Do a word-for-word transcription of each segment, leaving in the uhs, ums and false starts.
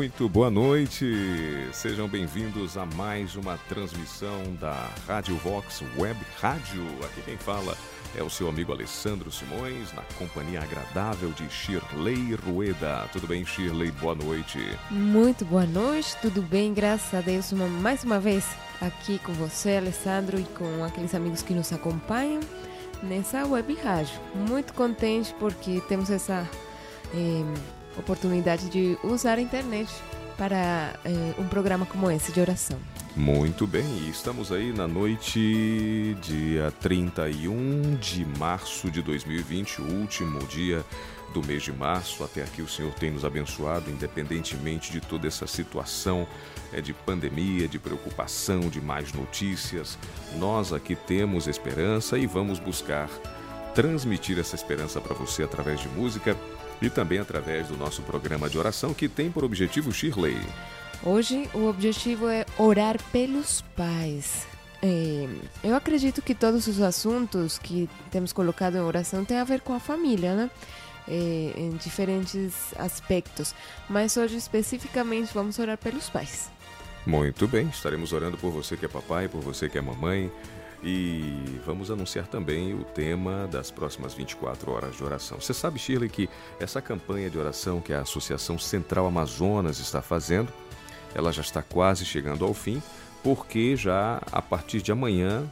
Muito boa noite, sejam bem-vindos a mais uma transmissão da Rádio Vox Web Rádio. Aqui quem fala é o seu amigo Alessandro Simões, na companhia agradável de Shirley Rueda. Tudo bem, Shirley? Boa noite. Muito boa noite, tudo bem, graças a Deus, uma, mais uma vez aqui com você, Alessandro, e com aqueles amigos que nos acompanham nessa web rádio. Muito contente porque temos essa eh, oportunidade de usar a internet para eh, um programa como esse de oração. Muito bem, e estamos aí na noite dia trinta e um de março de dois mil e vinte, o último dia do mês de março. Até aqui o Senhor tem nos abençoado, independentemente de toda essa situação é, de pandemia, de preocupação, de mais notícias. Nós aqui temos esperança e vamos buscar transmitir essa esperança para você através de música e também através do nosso programa de oração, que tem por objetivo, Shirley. Hoje o objetivo é orar pelos pais. É, eu acredito que todos os assuntos que temos colocado em oração têm a ver com a família, né? É, em diferentes aspectos. Mas hoje especificamente vamos orar pelos pais. Muito bem, estaremos orando por você que é papai, por você que é mamãe. E vamos anunciar também o tema das próximas vinte e quatro horas de oração. Você sabe, Shirley, que essa campanha de oração que a Associação Central Amazonas está fazendo, ela já está quase chegando ao fim, porque já a partir de amanhã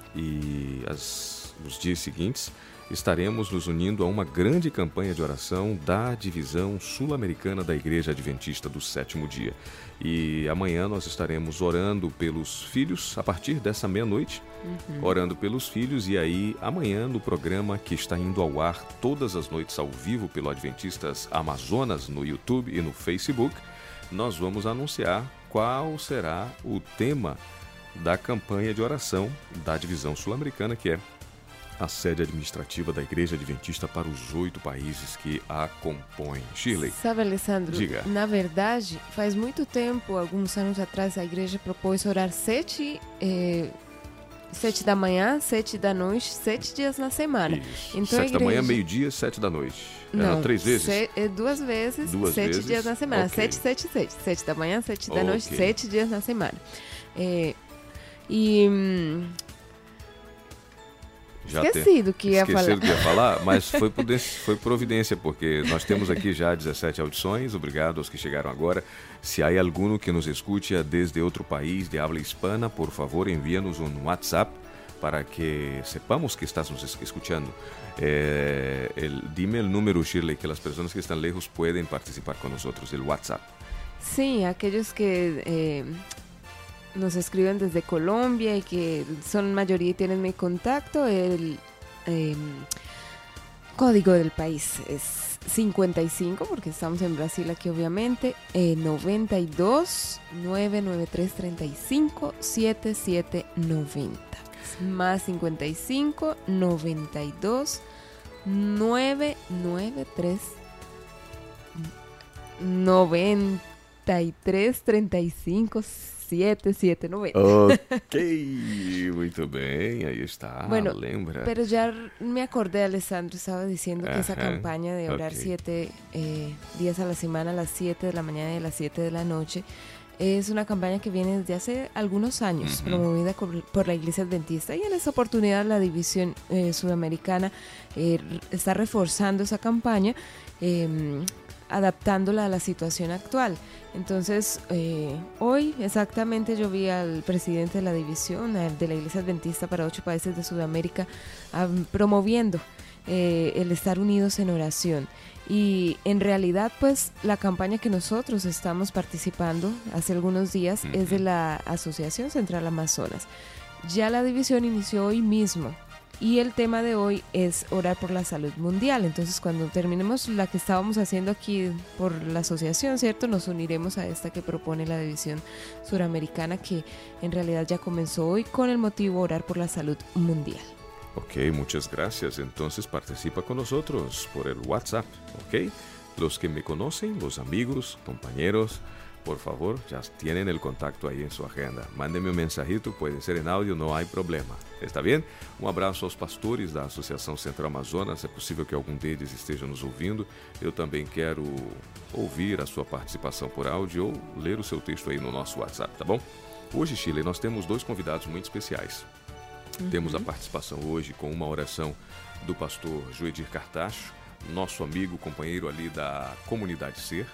e as, os dias seguintes estaremos nos unindo a uma grande campanha de oração da Divisão Sul-Americana da Igreja Adventista do Sétimo Dia. E amanhã nós estaremos orando pelos filhos a partir dessa meia-noite, uhum. orando pelos filhos, e aí amanhã no programa que está indo ao ar todas as noites ao vivo pelo Adventistas Amazonas no YouTube e no Facebook, nós vamos anunciar qual será o tema da campanha de oração da Divisão Sul-Americana, que é a sede administrativa da Igreja Adventista para os oito países que a compõem. Shirley. Sabe, Alessandro, diga. Na verdade, faz muito tempo, alguns anos atrás, a igreja propôs orar sete, eh, sete da manhã, sete da noite, sete dias na semana. Isso. Então, sete igreja... da manhã, meio-dia, sete da noite. Não, Era três vezes? Se, é duas vezes, duas sete vezes? dias na semana. Okay. Sete, sete, sete. Sete da manhã, sete da okay. noite, sete dias na semana. É, e... Hum, Já Esqueci do que ia Esqueci falar. do que ia falar, mas foi, foi providência, porque nós temos aqui já dezessete audições. Obrigado aos que chegaram agora. Se há alguno que nos escute desde outro país de habla hispana, por favor, envia-nos um WhatsApp para que sepamos que estás nos escuchando. Eh, el, dime el número, Shirley, que las personas que están lejos pueden participar con nosotros, el WhatsApp. Sí, aquellos que... Eh... nos escriben desde Colombia y que son mayoría y tienen mi contacto, el eh, código del país es cincuenta y cinco, porque estamos en Brasil aquí obviamente, eh, noventa y dos, nueve nueve tres, treinta y cinco, setenta y siete noventa. Más cincuenta y cinco, noventa y dos, nueve nueve tres, noventa y tres, treinta y cinco, setenta y siete noventa. Ok, muito bem, ahí está, bueno, lembra. Pero ya me acordé, Alessandro, estaba diciendo que esa Ajá, campaña de orar okay. siete eh, días a la semana, a las siete de la mañana y a las siete de la noche, es una campaña que viene desde hace algunos años, uh-huh. promovida por la Iglesia Adventista, y en esta oportunidad la División eh, Sudamericana eh, está reforzando esa campaña, eh, adaptándola a la situación actual. Entonces, eh, hoy exactamente yo vi al presidente de la división de la Iglesia Adventista para ocho países de Sudamérica um, promoviendo eh, el estar unidos en oración. Y en realidad, pues, la campaña que nosotros estamos participando hace algunos días uh-huh. es de la Asociación Central Amazonas. Ya la división inició hoy mismo. Y el tema de hoy es orar por la salud mundial. Entonces, cuando terminemos la que estábamos haciendo aquí por la asociación, ¿cierto? Nos uniremos a esta que propone la División Suramericana, que en realidad ya comenzó hoy con el motivo orar por la salud mundial. Ok, muchas gracias. Entonces participa con nosotros por el WhatsApp, ok? Los que me conocen, los amigos, compañeros, por favor, ya tienen el contacto ahí en su agenda. Mándenme um mensajito, pode ser em áudio, não há problema. Está bem? Um abraço aos pastores da Associação Central Amazonas. É possível que algum deles esteja nos ouvindo. Eu também quero ouvir a sua participação por áudio ou ler o seu texto aí no nosso WhatsApp, tá bom? Hoje, Shirley, nós temos dois convidados muito especiais. Uhum. Temos a participação hoje com uma oração do pastor Joedir Cartacho, nosso amigo, companheiro ali da Comunidade Ser.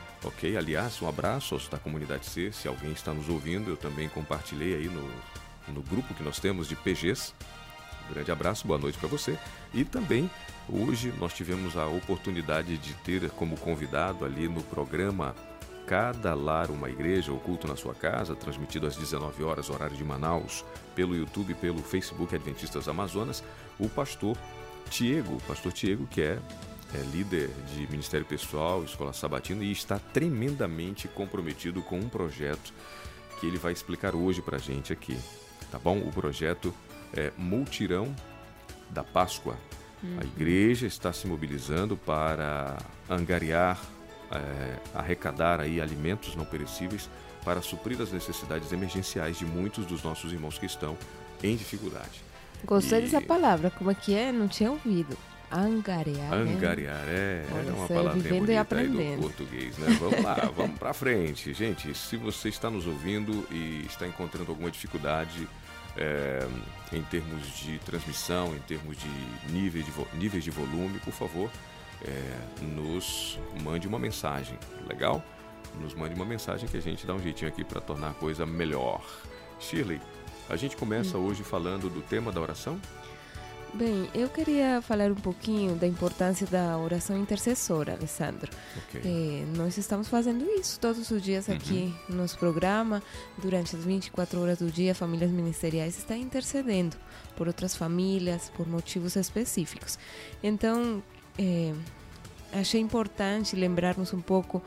Ok? Aliás, um abraço aos da Comunidade Ser. Se alguém está nos ouvindo, eu também compartilhei aí no, no grupo que nós temos de P Gs. Um grande abraço, boa noite para você. E também, hoje, nós tivemos a oportunidade de ter como convidado ali no programa Cada Lar Uma Igreja, o culto na sua casa, transmitido às dezenove horas, horário de Manaus, pelo YouTube e pelo Facebook Adventistas Amazonas, o pastor Tiago, o pastor Tiago, que é, é líder de Ministério Pessoal, Escola Sabatina, e está tremendamente comprometido com um projeto que ele vai explicar hoje para a gente aqui, tá bom? O projeto é Multirão da Páscoa. Uhum. A igreja está se mobilizando para angariar, é, arrecadar aí alimentos não perecíveis para suprir as necessidades emergenciais de muitos dos nossos irmãos que estão em dificuldade. Gostei e... dessa palavra, como é que é? Não tinha ouvido. Angariar. Angariar, né? é, é uma palavra bonita aí do português, né? Vamos lá, vamos pra frente. Gente, se você está nos ouvindo e está encontrando alguma dificuldade é, em termos de transmissão, em termos de níveis de, vo- níveis de volume, por favor, é, nos mande uma mensagem, legal? Nos mande uma mensagem que a gente dá um jeitinho aqui para tornar a coisa melhor. Shirley, a gente começa hoje falando do tema da oração? Bem, eu queria falar um pouquinho da importância da oração intercessora, Alessandro. Okay. É, nós estamos fazendo isso todos os dias aqui uhum. no nosso programa. Durante as vinte e quatro horas do dia, famílias ministeriais estão intercedendo por outras famílias, por motivos específicos. Então, é, achei importante lembrarmos um pouco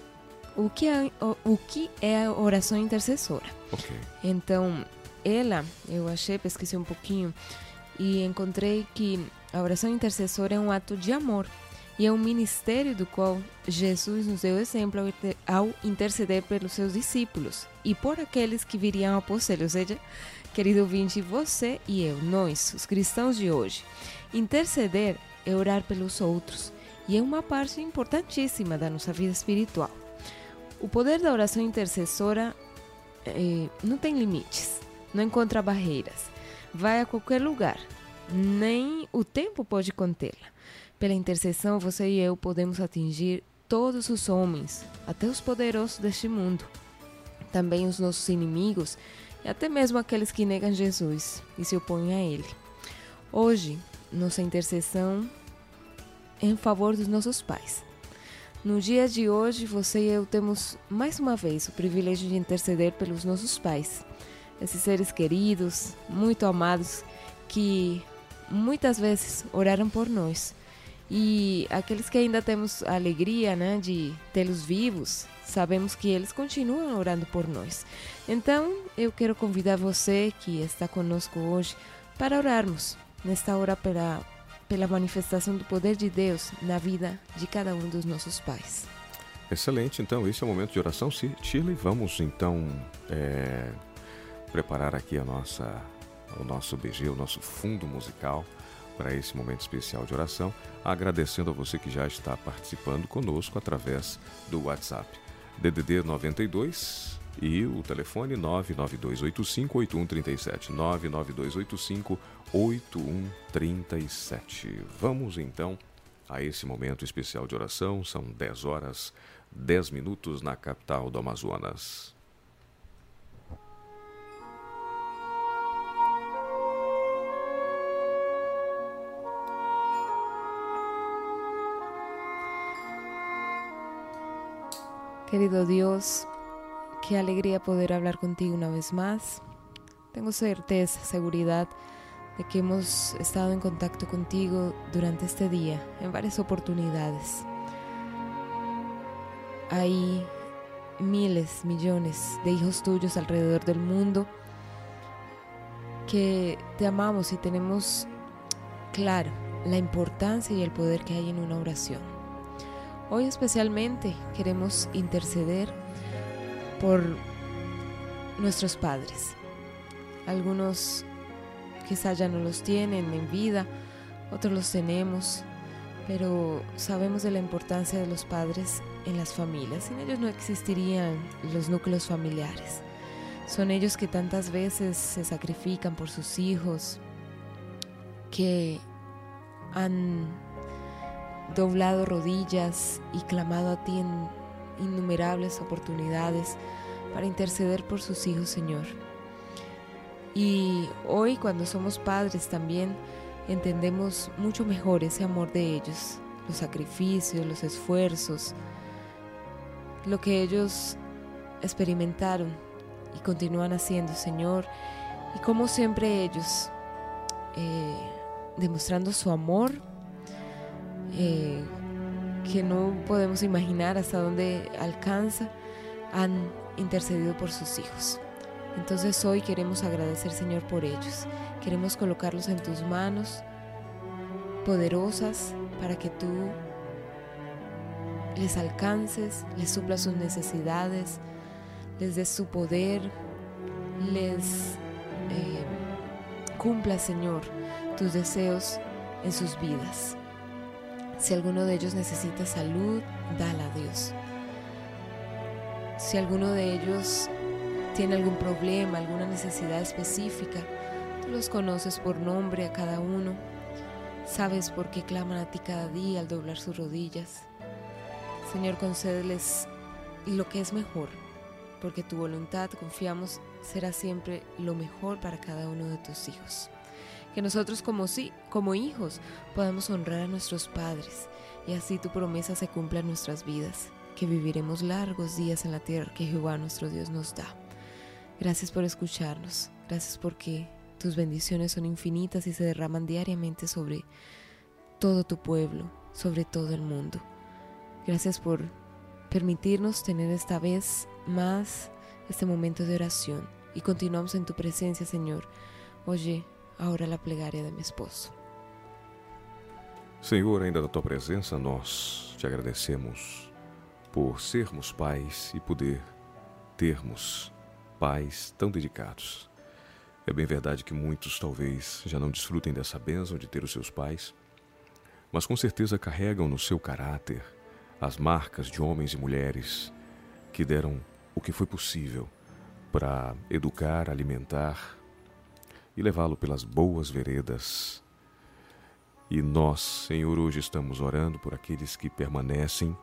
o que é, o, o que é a oração intercessora. Okay. Então, ela, eu achei, pesquisei um pouquinho e encontrei que a oração intercessora é um ato de amor e é um ministério do qual Jesus nos deu exemplo ao interceder pelos seus discípulos e por aqueles que viriam após ele. Ou seja, querido ouvinte, você e eu, nós, os cristãos de hoje, interceder é orar pelos outros e é uma parte importantíssima da nossa vida espiritual. O poder da oração intercessora eh, não tem limites, não encontra barreiras, vai a qualquer lugar, nem o tempo pode contê-la. Pela intercessão, você e eu podemos atingir todos os homens, até os poderosos deste mundo, também os nossos inimigos e até mesmo aqueles que negam Jesus e se opõem a Ele. Hoje, nossa intercessão é em favor dos nossos pais. No dia de hoje, você e eu temos mais uma vez o privilégio de interceder pelos nossos pais, esses seres queridos, muito amados, que muitas vezes oraram por nós. E aqueles que ainda temos a alegria, né, de tê-los vivos, sabemos que eles continuam orando por nós. Então, eu quero convidar você que está conosco hoje para orarmos nesta hora pela, pela manifestação do poder de Deus na vida de cada um dos nossos pais. Excelente, então esse é o momento de oração, Shirley. Vamos então é, preparar aqui a nossa, o nosso B G, o nosso fundo musical para esse momento especial de oração, agradecendo a você que já está participando conosco através do WhatsApp. D D D noventa e dois e o telefone nove nove dois oito cinco oito um três sete, nove nove dois oito cinco oito um três sete. Vamos então a esse momento especial de oração. São dez horas, dez minutos na capital do Amazonas. Querido Dios, qué alegría poder hablar contigo una vez más. Tengo certeza, seguridad de que hemos estado en contacto contigo durante este día, en varias oportunidades. Hay miles, millones de hijos tuyos alrededor del mundo que te amamos y tenemos claro la importancia y el poder que hay en una oración. Hoy especialmente queremos interceder por nuestros padres. Algunos quizás ya no los tienen en vida, otros los tenemos, pero sabemos de la importancia de los padres en las familias. Sin ellos no existirían los núcleos familiares. Son ellos que tantas veces se sacrifican por sus hijos, que han doblado rodillas y clamado a ti en innumerables oportunidades para interceder por sus hijos, Señor. Y hoy, cuando somos padres, también entendemos mucho mejor ese amor de ellos, los sacrificios, los esfuerzos, lo que ellos experimentaron y continúan haciendo, Señor, y cómo siempre ellos, eh, demostrando su amor, eh, que no podemos imaginar hasta dónde alcanza, han intercedido por sus hijos. Entonces hoy queremos agradecer, Señor, por ellos. Queremos colocarlos en tus manos poderosas para que tú les alcances, les suplas sus necesidades, les des su poder, les eh, cumpla, Señor, tus deseos en sus vidas. Si alguno de ellos necesita salud, dala a Dios. Si alguno de ellos tiene algún problema, alguna necesidad específica, tú los conoces por nombre a cada uno. Sabes por qué claman a ti cada día al doblar sus rodillas. Señor, concédeles lo que es mejor, porque tu voluntad, confiamos, será siempre lo mejor para cada uno de tus hijos. Que nosotros como, sí, como hijos podamos honrar a nuestros padres y así tu promesa se cumpla en nuestras vidas, que viviremos largos días en la tierra que Jehová nuestro Dios nos da. Gracias por escucharnos, gracias porque tus bendiciones son infinitas y se derraman diariamente sobre todo tu pueblo, sobre todo el mundo. Gracias por permitirnos tener esta vez más este momento de oración y continuamos en tu presencia, Señor. Oye agora a plegária de meu esposo. Senhor, ainda na tua presença, nós te agradecemos por sermos pais e poder termos pais tão dedicados. É bem verdade que muitos talvez já não desfrutem dessa bênção de ter os seus pais, mas com certeza carregam no seu caráter as marcas de homens e mulheres que deram o que foi possível para educar, alimentar e levá-lo pelas boas veredas. E nós, Senhor, hoje estamos orando por aqueles que permanecem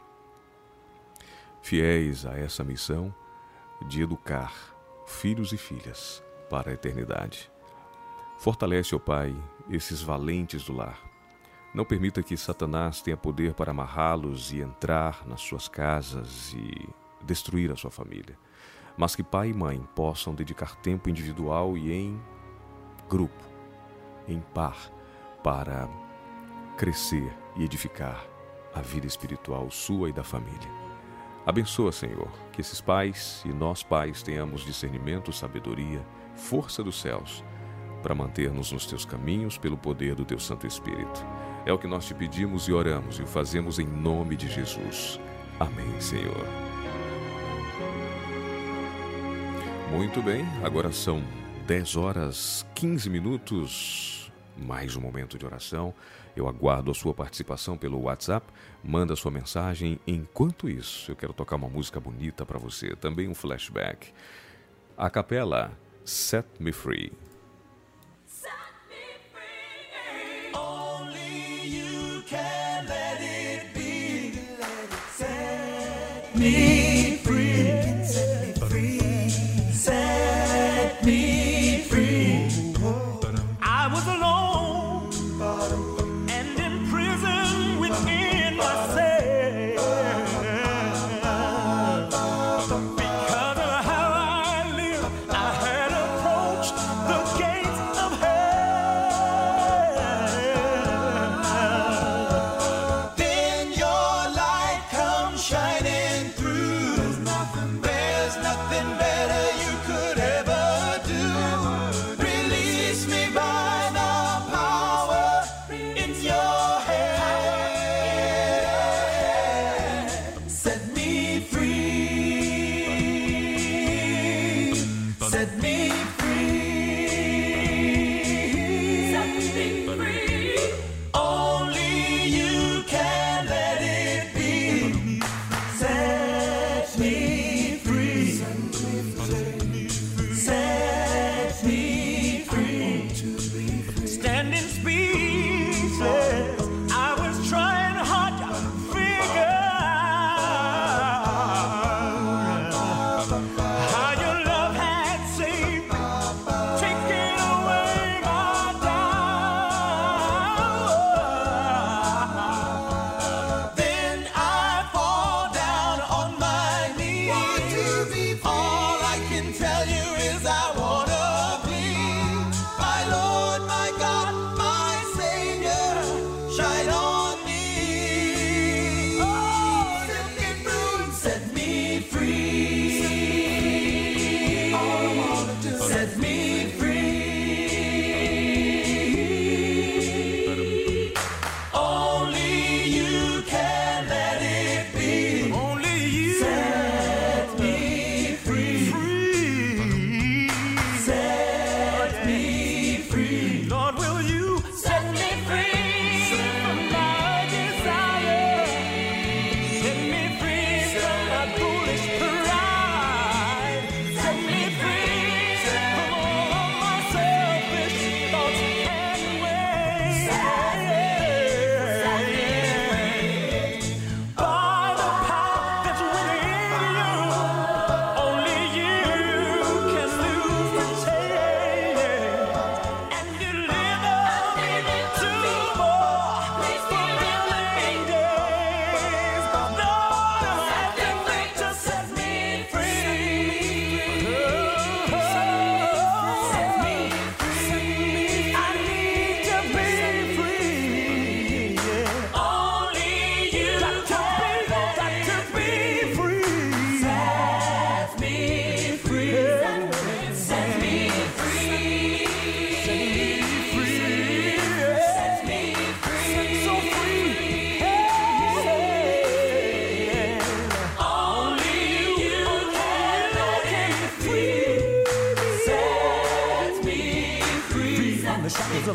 fiéis a essa missão de educar filhos e filhas para a eternidade. Fortalece, ó Pai, esses valentes do lar. Não permita que Satanás tenha poder para amarrá-los e entrar nas suas casas e destruir a sua família, mas que pai e mãe possam dedicar tempo individual e em grupo, em par, para crescer e edificar a vida espiritual sua e da família. Abençoa, Senhor, que esses pais e nós pais tenhamos discernimento, sabedoria, força dos céus para manter-nos nos teus caminhos pelo poder do teu Santo Espírito. É o que nós te pedimos e oramos e o fazemos em nome de Jesus. Amém, Senhor. Muito bem, agora são dez horas, quinze minutos, mais um momento de oração. Eu aguardo a sua participação pelo WhatsApp, manda sua mensagem. Enquanto isso, eu quero tocar uma música bonita para você, também um flashback. A capela, Set Me Free. Set me free. Only you can let it be. Set me free. Set me free. Set me free. I was alone and in prison within myself because of how I live. I had approached the gates of hell. Then your light comes shining through. There's nothing, there's nothing better you could ever do. Release me by the power in your hand.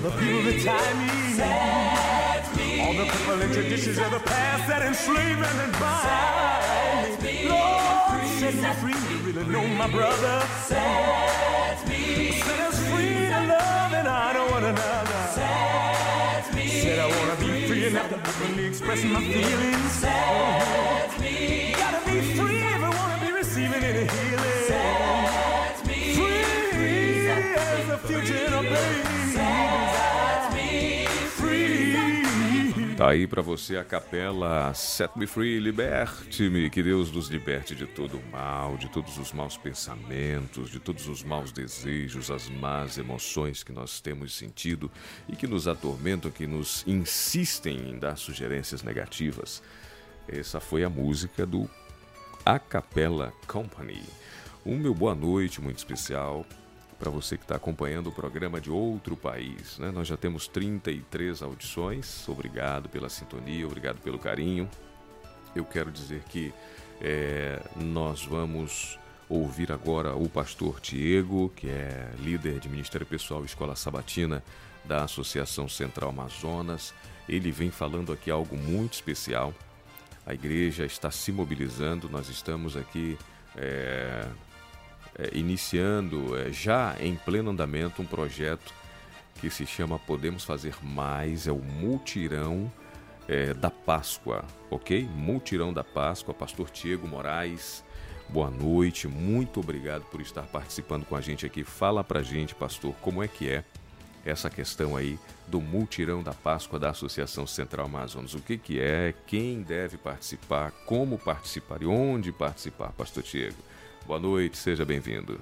the people that tie me. Set me all the people and traditions of the past that enslave and bind me. Lord, set me free to really know my brother. Set me set us free to love and honor one another. Set me said I wanna be free enough to openly express my feelings. Set me gotta be free if I wanna be receiving any healing. Set me free as the future of baby. Set me free. Tá aí pra você a capela Set Me Free, liberte-me, que Deus nos liberte de todo o mal, de todos os maus pensamentos, de todos os maus desejos, as más emoções que nós temos sentido e que nos atormentam, que nos insistem em dar sugerências negativas. Essa foi a música do A Cappella Company. Um meu boa noite muito especial para você que está acompanhando o programa de outro país, né? Nós já temos trinta e três audições. Obrigado pela sintonia, obrigado pelo carinho. Eu quero dizer que é, nós vamos ouvir agora o pastor Tiago, que é líder de Ministério Pessoal e Escola Sabatina da Associação Central Amazonas. Ele vem falando aqui algo muito especial. A igreja está se mobilizando, nós estamos aqui é, é, iniciando, é, já em pleno andamento, um projeto que se chama Podemos Fazer Mais, é o Multirão é, da Páscoa, ok? Multirão da Páscoa, pastor Tiago Moraes, boa noite, muito obrigado por estar participando com a gente aqui. Fala pra gente, pastor, como é que é essa questão aí do Multirão da Páscoa da Associação Central Amazonas. O que que é, quem deve participar, como participar e onde participar, pastor Tiago. Boa noite, seja bem-vindo.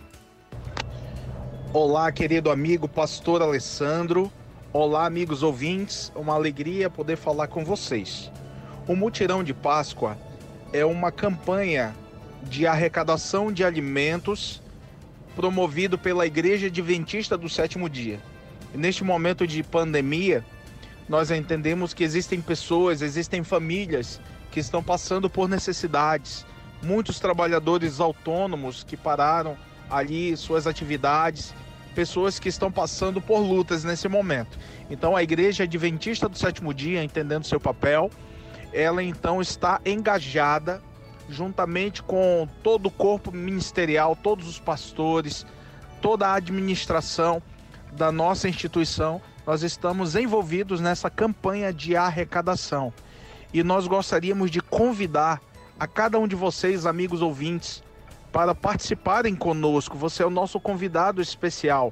Olá, querido amigo pastor Alessandro. Olá, amigos ouvintes. Uma alegria poder falar com vocês. O Multirão de Páscoa é uma campanha de arrecadação de alimentos promovido pela Igreja Adventista do Sétimo Dia. Neste momento de pandemia, nós entendemos que existem pessoas, existem famílias que estão passando por necessidades. Muitos trabalhadores autônomos que pararam ali suas atividades, pessoas que estão passando por lutas nesse momento. Então a Igreja Adventista do Sétimo Dia, entendendo seu papel, ela então está engajada juntamente com todo o corpo ministerial, todos os pastores, toda a administração da nossa instituição. Nós estamos envolvidos nessa campanha de arrecadação e nós gostaríamos de convidar a cada um de vocês, amigos ouvintes, para participarem conosco. Você é o nosso convidado especial.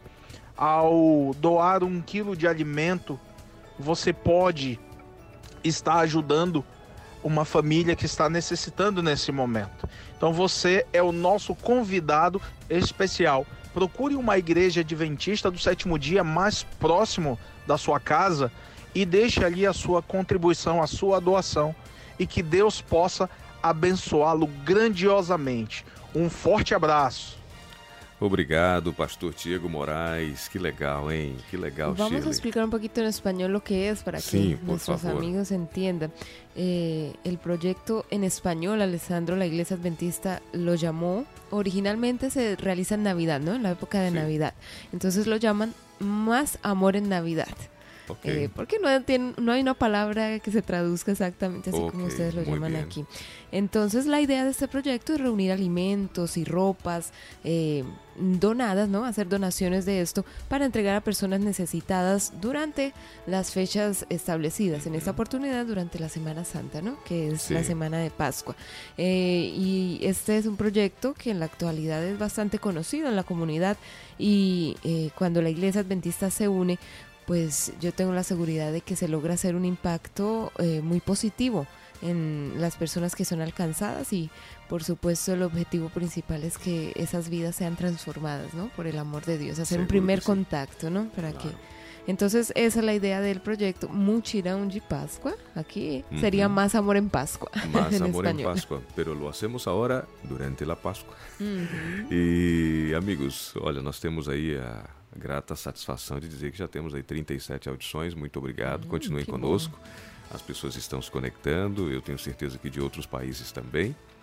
Ao doar um quilo de alimento, você pode estar ajudando uma família que está necessitando nesse momento. Então você é o nosso convidado especial. Procure uma igreja adventista do sétimo dia mais próximo da sua casa e deixe ali a sua contribuição, a sua doação, e que Deus possa abençoá-lo grandiosamente. Um forte abraço. Obrigado, pastor Tiago Moraes. Que legal, hein? Que legal, Vamos Shirley. a explicar un poquito en español lo que es para Sí, que por nuestros favor. amigos entiendan. Eh, el proyecto en español, Alessandro, la Iglesia Adventista lo llamó, originalmente se realiza en Navidad, ¿no? En la época de Sí. Navidad. Entonces lo llaman Más Amor en Navidad. Ok. Eh, porque no, tiene- no hay una palabra que se traduzca exactamente así como Ok, ustedes lo muy llaman bien. aquí. Entonces la idea de este proyecto es reunir alimentos y ropas eh, donadas, ¿no? Hacer donaciones de esto para entregar a personas necesitadas durante las fechas establecidas. En esta oportunidad durante la Semana Santa, ¿no? Que es Sí. la Semana de Pascua. Eh, y este es un proyecto que en la actualidad es bastante conocido en la comunidad y eh, cuando la Iglesia Adventista se une, pues yo tengo la seguridad de que se logra hacer un impacto eh, muy positivo en las personas que son alcanzadas y por supuesto el objetivo principal es que esas vidas sean transformadas, ¿no? Por el amor de Dios, hacer un Seguro primer que sí. contacto, ¿no? Para Claro. que entonces esa es la idea del proyecto Multirão de Pascua. Aquí sería Ujú. Más Amor en Pascua. Más en amor en español. Pascua, pero lo hacemos ahora durante la Páscoa. Ujú. E, amigos, olha, nós temos aí a grata satisfação de dizer que já temos aí trinta e sete audições. Muito obrigado, Hum, continuem que conosco. As pessoas estão se conectando, eu tenho certeza que de outros países também.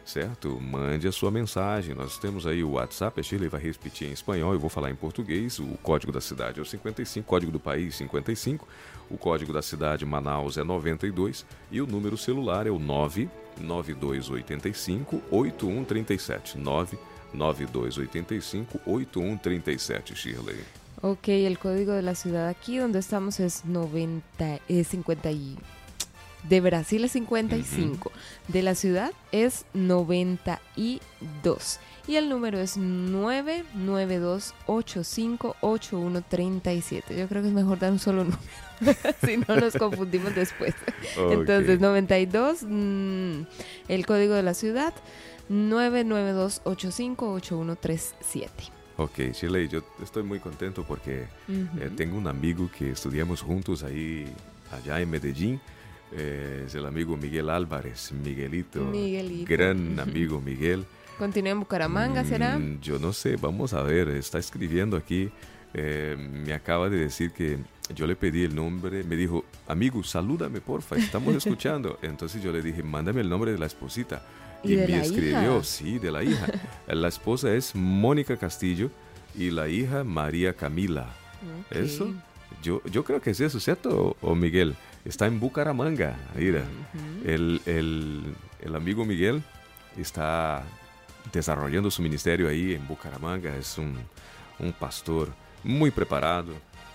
certo? Mande a sua mensagem. Nós temos aí o WhatsApp, a Shirley vai repetir em espanhol, eu vou falar em português. O código da cidade é o cinquenta e cinco, código do país cinquenta e cinco, o código da cidade Manaus é noventa e dois e o número celular é o nove nove dois oito cinco oito um três sete. nove nove dois oito cinco oito um três sete, Shirley. Ok, el código de la ciudad aquí donde estamos es noventa, eh, cincuenta y... De Brasil es cincuenta y cinco, uh-huh. De la ciudad es noventa y dos y el número es nueve nueve dos ocho cinco ocho uno tres siete. Yo creo que es mejor dar un solo número, si no nos confundimos después. Okay. Entonces noventa y dos, mmm, el código de la ciudad, nueve nueve dos ocho cinco ocho uno tres siete. Ok, Shirley, yo estoy muy contento porque uh-huh. eh, tengo un amigo que estudiamos juntos ahí, allá en Medellín. Eh, es el amigo Miguel Álvarez, Miguelito, Miguelito. Gran amigo Miguel. ¿Continúa en Bucaramanga, será? Mm, yo no sé, vamos a ver, está escribiendo aquí, eh, me acaba de decir que yo le pedí el nombre, me dijo, amigo, salúdame porfa, estamos escuchando. Entonces yo le dije, mándame el nombre de la esposita. Y, y de me la escribió, hija. Sí, de la hija. La esposa es Mónica Castillo y la hija María Camila. Okay. ¿Eso? Yo, yo creo que es eso, ¿cierto, o, o Miguel? Está en Bucaramanga, mira. Uh-huh. el, el, el amigo Miguel está desarrollando su ministerio ahí en Bucaramanga. Es un, un pastor muy preparado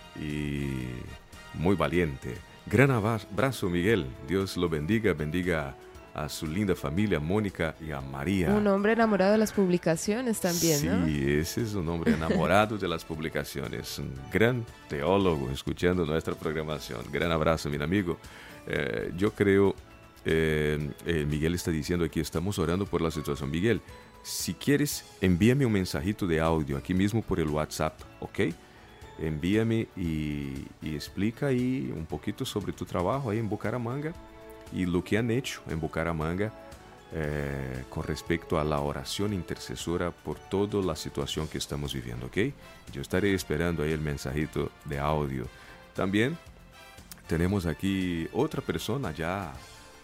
y muy valiente. Gran abrazo, Miguel. Dios lo bendiga, bendiga a su linda familia, Mónica y a María. Un hombre enamorado de las publicaciones también, sí, ¿no? Sí, ese es un hombre enamorado de las publicaciones. Un gran teólogo escuchando nuestra programación. Gran abrazo, mi amigo. Eh, yo creo, eh, eh, Miguel está diciendo aquí, estamos orando por la situación. Miguel, si quieres, envíame un mensajito de audio aquí mismo por el WhatsApp, ¿ok? Envíame y, y explica ahí un poquito sobre tu trabajo ahí en Bucaramanga y lo que han hecho en Bucaramanga eh, con respecto a la oración intercesora por toda la situación que estamos viviendo, ¿ok? Yo estaré esperando ahí el mensajito de audio. También tenemos aquí otra persona ya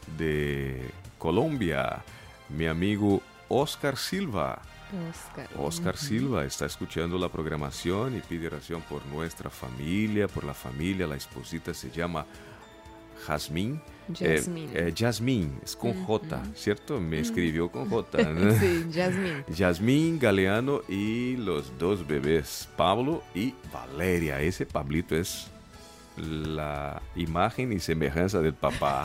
de Colombia, mi amigo Oscar Silva. Oscar, Oscar uh-huh. Silva está escuchando la programación y pide oración por nuestra familia, por la familia. La esposita se llama Jazmín. Jasmine. Eh, eh, Jasmine, es con uh-huh. J, ¿cierto? Me escribió con J. ¿no? Sí, Jasmine. Jasmine Galeano y los dos bebés, Pablo y Valeria. Ese Pablito es la imagen y semejanza del papá.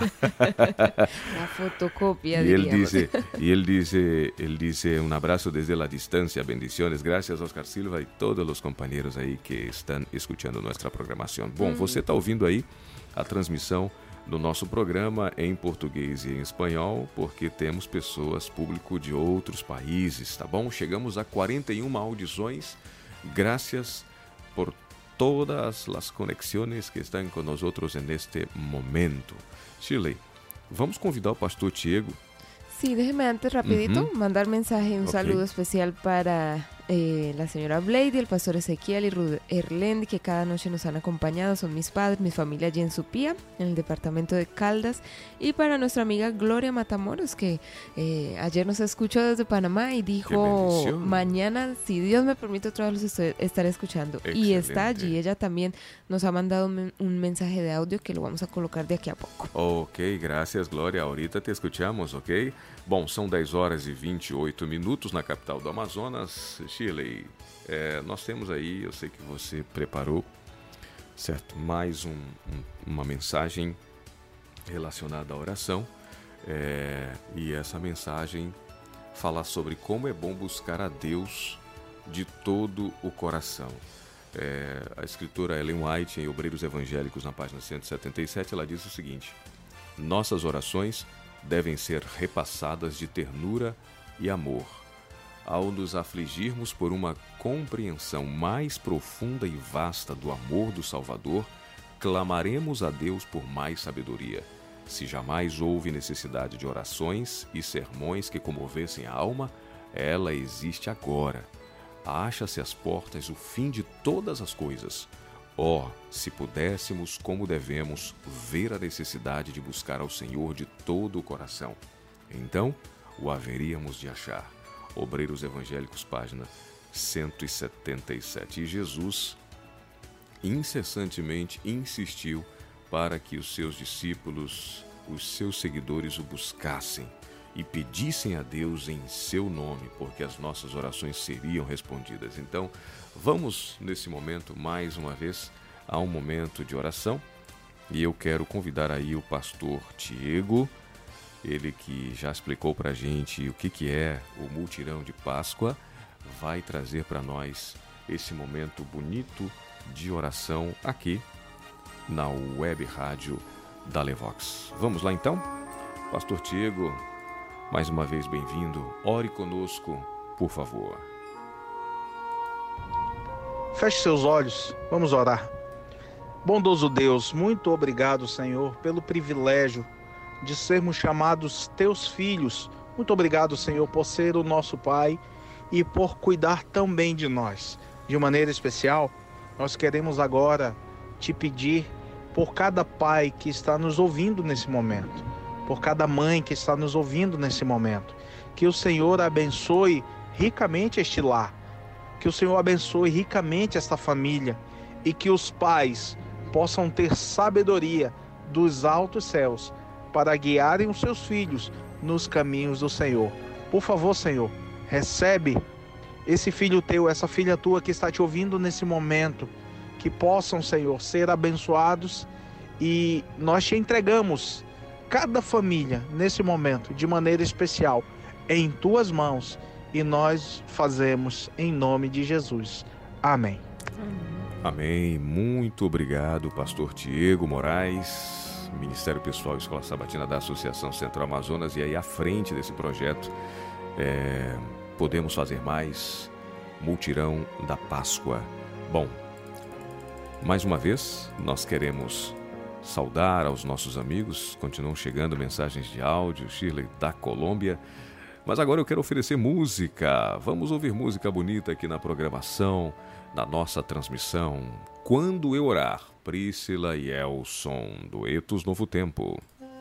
La fotocopia, y él diríamos. dice, y él dice, él dice un abrazo desde la distancia, bendiciones. Gracias, Oscar Silva e todos os companheiros aí que estão escutando nossa programação. Bom, hum. você está ouvindo aí a transmissão do nosso programa em português e em espanhol, porque temos pessoas, público de outros países, tá bom? Chegamos a quarenta e uma audições, graças por todas as conexões que estão conosco neste momento. Shirley, vamos convidar o pastor Tiago. Sí, déjeme antes rapidito uh-huh. mandar mensaje, un okay. saludo especial para eh, la señora Blady, el pastor Ezequiel y Ruth Erlendi, que cada noche nos han acompañado, son mis padres, mi familia allí en Supía, en el departamento de Caldas, y para nuestra amiga Gloria Matamoros, que eh, ayer nos escuchó desde Panamá y dijo, mañana, si Dios me permite, otra vez los estoy, estaré escuchando. Excelente. Y está allí, ella también nos ha mandado un, un mensaje de audio que lo vamos a colocar de aquí a poco. Ok, gracias Gloria, ahorita te escuchamos, ok? Bom, são dez horas e vinte e oito minutos na capital do Amazonas. Shirley, é, nós temos aí, eu sei que você preparou, certo? Mais um, um, uma mensagem relacionada à oração. É, e essa mensagem fala sobre como é bom buscar a Deus de todo o coração. É, a escritora Ellen White, em Obreiros Evangélicos, na página cento e setenta e sete, ela diz o seguinte: nossas orações devem ser repassadas de ternura e amor. Ao nos afligirmos por uma compreensão mais profunda e vasta do amor do Salvador, clamaremos a Deus por mais sabedoria. Se jamais houve necessidade de orações e sermões que comovessem a alma, ela existe agora. Acha-se às portas o fim de todas as coisas. Oh, se pudéssemos, como devemos, ver a necessidade de buscar ao Senhor de todo o coração. Então, o haveríamos de achar. Obreiros Evangélicos, página cento e setenta e sete. E Jesus incessantemente insistiu para que os seus discípulos, os seus seguidores o buscassem e pedissem a Deus em seu nome, porque as nossas orações seriam respondidas. Então, vamos nesse momento, mais uma vez, a um momento de oração. E eu quero convidar aí o pastor Tiago, ele que já explicou para a gente o que, que é o Mutirão de Páscoa, vai trazer para nós esse momento bonito de oração aqui na web rádio da Levox. Vamos lá então? Pastor Tiago, mais uma vez bem-vindo. Ore conosco, por favor. Feche seus olhos, vamos orar. Bondoso Deus, muito obrigado, Senhor, pelo privilégio de sermos chamados teus filhos. Muito obrigado, Senhor, por ser o nosso Pai e por cuidar tão bem de nós. De maneira especial, nós queremos agora te pedir por cada pai que está nos ouvindo nesse momento, por cada mãe que está nos ouvindo nesse momento, que o Senhor abençoe ricamente este lar, que o Senhor abençoe ricamente esta família e que os pais possam ter sabedoria dos altos céus para guiarem os seus filhos nos caminhos do Senhor. Por favor, Senhor, recebe esse filho teu, essa filha tua que está te ouvindo nesse momento, que possam, Senhor, ser abençoados, e nós te entregamos cada família nesse momento, de maneira especial, em tuas mãos, e nós fazemos em nome de Jesus. Amém. Amém. Muito obrigado, pastor Tiago Moraes, Ministério Pessoal Escola Sabatina da Associação Central Amazonas, e aí à frente desse projeto, é, Podemos Fazer Mais, Mutirão da Páscoa. Bom, mais uma vez, nós queremos saudar aos nossos amigos, continuam chegando mensagens de áudio, Shirley da Colômbia, mas agora eu quero oferecer música. Vamos ouvir música bonita aqui na programação, na nossa transmissão. Quando Eu Orar, Priscila e Elson, duetos Novo Tempo.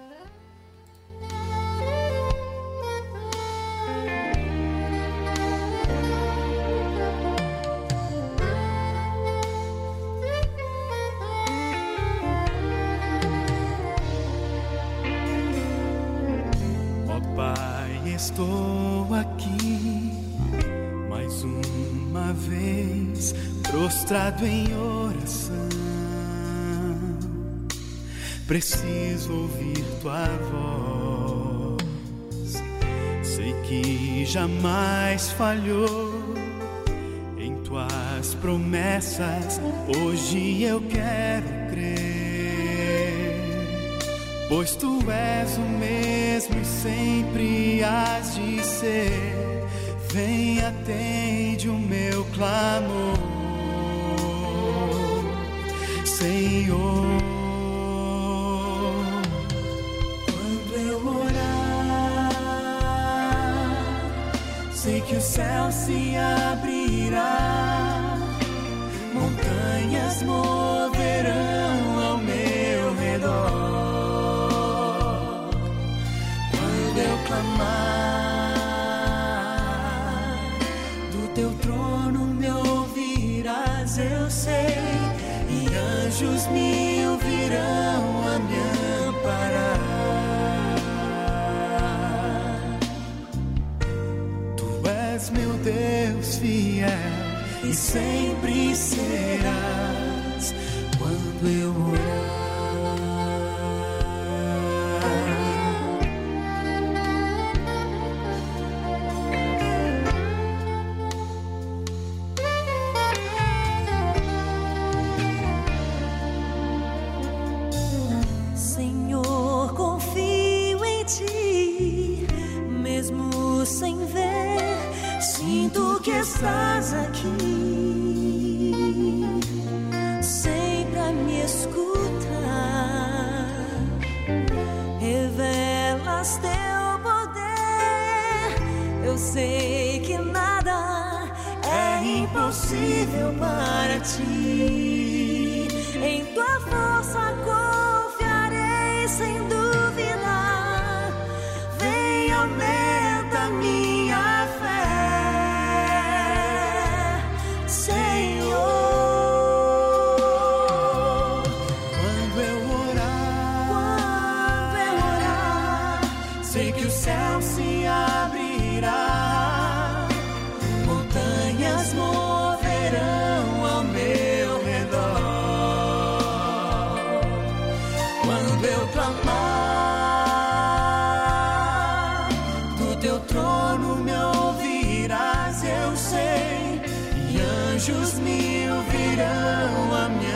Estou aqui mais uma vez, prostrado em oração. Preciso ouvir tua voz. Sei que jamais falhou em tuas promessas. Hoje eu quero crer, pois tu és o mesmo e sempre hás de ser. Vem, atende o meu clamor, Senhor. Quando eu orar, sei que o céu se abrirá, montanhas moverão ao meu redor. Quando eu clamar, do teu trono me ouvirás, eu sei, e anjos mil virão a me amparar. Tu és meu Deus fiel e sempre serás quando eu orar. Sem ver, sinto que estás aqui, sempre a me escutar. Revelas teu poder, eu sei que nada é impossível para ti. Em tua força confiarei sem dúvida. Vem, aumenta sei que o céu se abrirá, montanhas moverão ao meu redor. Quando eu clamar, do teu trono me ouvirás, eu sei, e anjos mil virão a me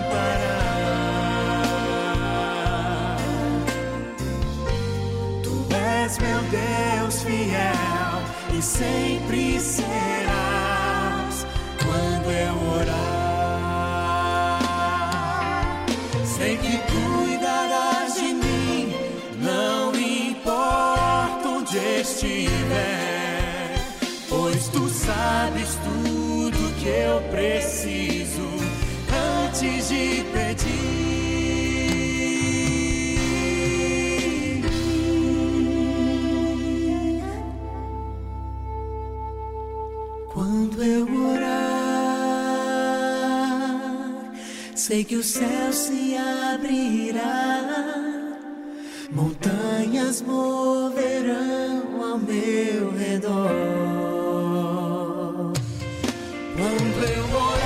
amparar. Tu és meu Deus fiel e sempre serás quando eu orar. Sei que cuidarás de mim, não importa onde estiver, pois tu sabes tudo que eu preciso antes de pedir. Quando eu orar, sei que o céu se abrirá, montanhas moverão ao meu redor. Quando eu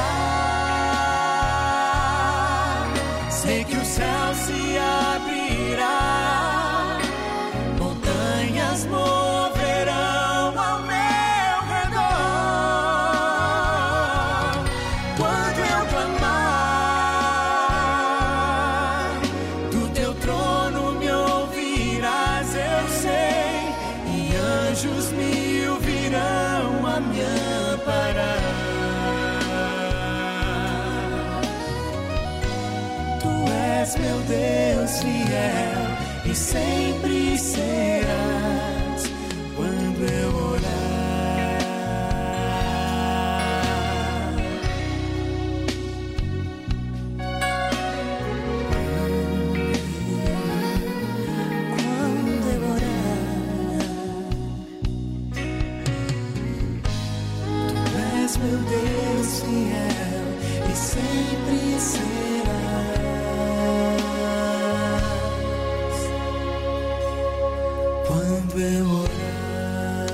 orar, sei que o céu se abrirá, montanhas moverão ao meu redor. Quando eu clamar, do teu trono me ouvirás, eu sei, e anjos mil virão a me amparar. Meu Deus fiel e sempre serás quando eu orar. Quando eu orar, tu és meu Deus fiel e sempre serás. Quando eu orar.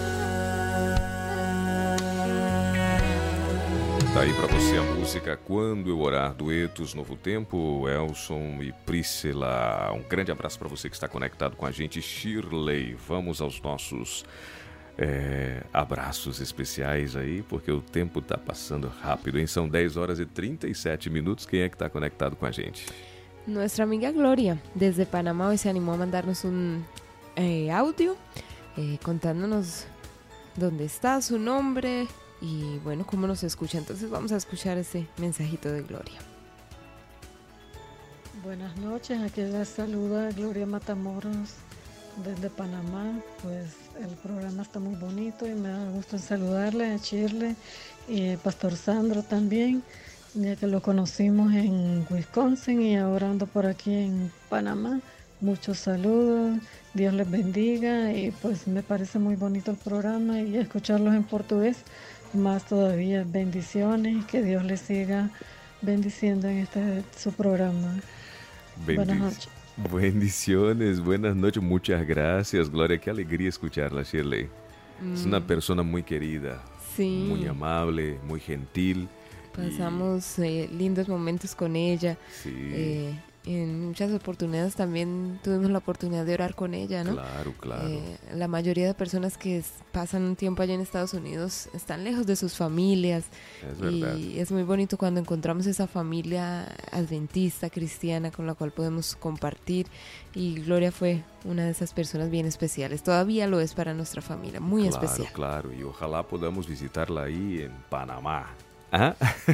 Tá aí pra você a música Quando Eu Orar, duetos Novo Tempo, Elson e Priscila. Um grande abraço pra você que está conectado com a gente, Shirley. Vamos aos nossos é, abraços especiais aí, porque o tempo tá passando rápido, hein? São dez horas e trinta e sete minutos. Quem é que tá conectado com a gente? Nuestra amiga Gloria, desde Panamá, hoy se animó a mandarnos un eh, audio eh, contándonos dónde está, su nombre y bueno, cómo nos escucha. Entonces vamos a escuchar ese mensajito de Gloria. Buenas noches, aquí les saluda Gloria Matamoros desde Panamá. Pues el programa está muy bonito y me da gusto en saludarle a Shirley y a Pastor Sandro también, ya que lo conocimos en Wisconsin y ahora ando por aquí en Panamá. Muchos saludos, Dios les bendiga y pues me parece muy bonito el programa y escucharlos en portugués, más todavía. Bendiciones, que Dios les siga bendiciendo en este su programa. Bendic- Buenas noches. Bendiciones, buenas noches, muchas gracias, Gloria. Qué alegría escucharla, Shirley. Mm, Es una persona muy querida, sí, muy amable, muy gentil. pasamos eh, lindos momentos con ella. Sí, Eh, en muchas oportunidades también tuvimos la oportunidad de orar con ella, ¿no? claro, claro. Eh, la mayoría de personas que es- pasan un tiempo allá en Estados Unidos están lejos de sus familias Es verdad. y es muy bonito cuando encontramos esa familia adventista, cristiana, con la cual podemos compartir, y Gloria fue una de esas personas bien especiales, todavía lo es para nuestra familia, muy Claro, especial. claro. Y ojalá podamos visitarla ahí en Panamá. ¿Ah?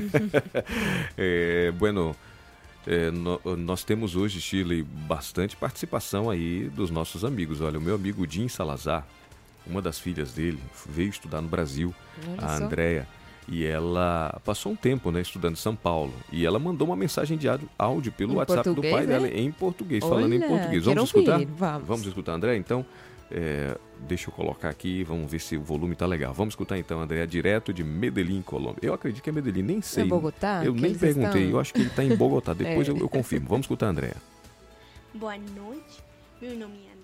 É, bueno, é, no- nós temos hoje, Shirley, bastante participação aí dos nossos amigos. Olha, o meu amigo Jim Salazar, uma das filhas dele, veio estudar no Brasil, Olha a só. Andrea, e ela passou um tempo, né, estudando em São Paulo. E ela mandou uma mensagem de áudio- áudio pelo Em WhatsApp português, do pai é? dela, em português, falando em Olha, português. quero Vamos escutar? ouvir, vamos. Vamos escutar, André? Então, é, deixa eu colocar aqui, vamos ver se o volume tá legal. Vamos escutar então, André, direto de Medellín, Colômbia. Eu acredito que é Medellín, nem sei. É Bogotá? Eu que nem eles perguntei, estão? eu acho que ele tá em Bogotá. Depois É. eu, eu confirmo. Vamos escutar, André. Boa noite, meu nome é André Salazar.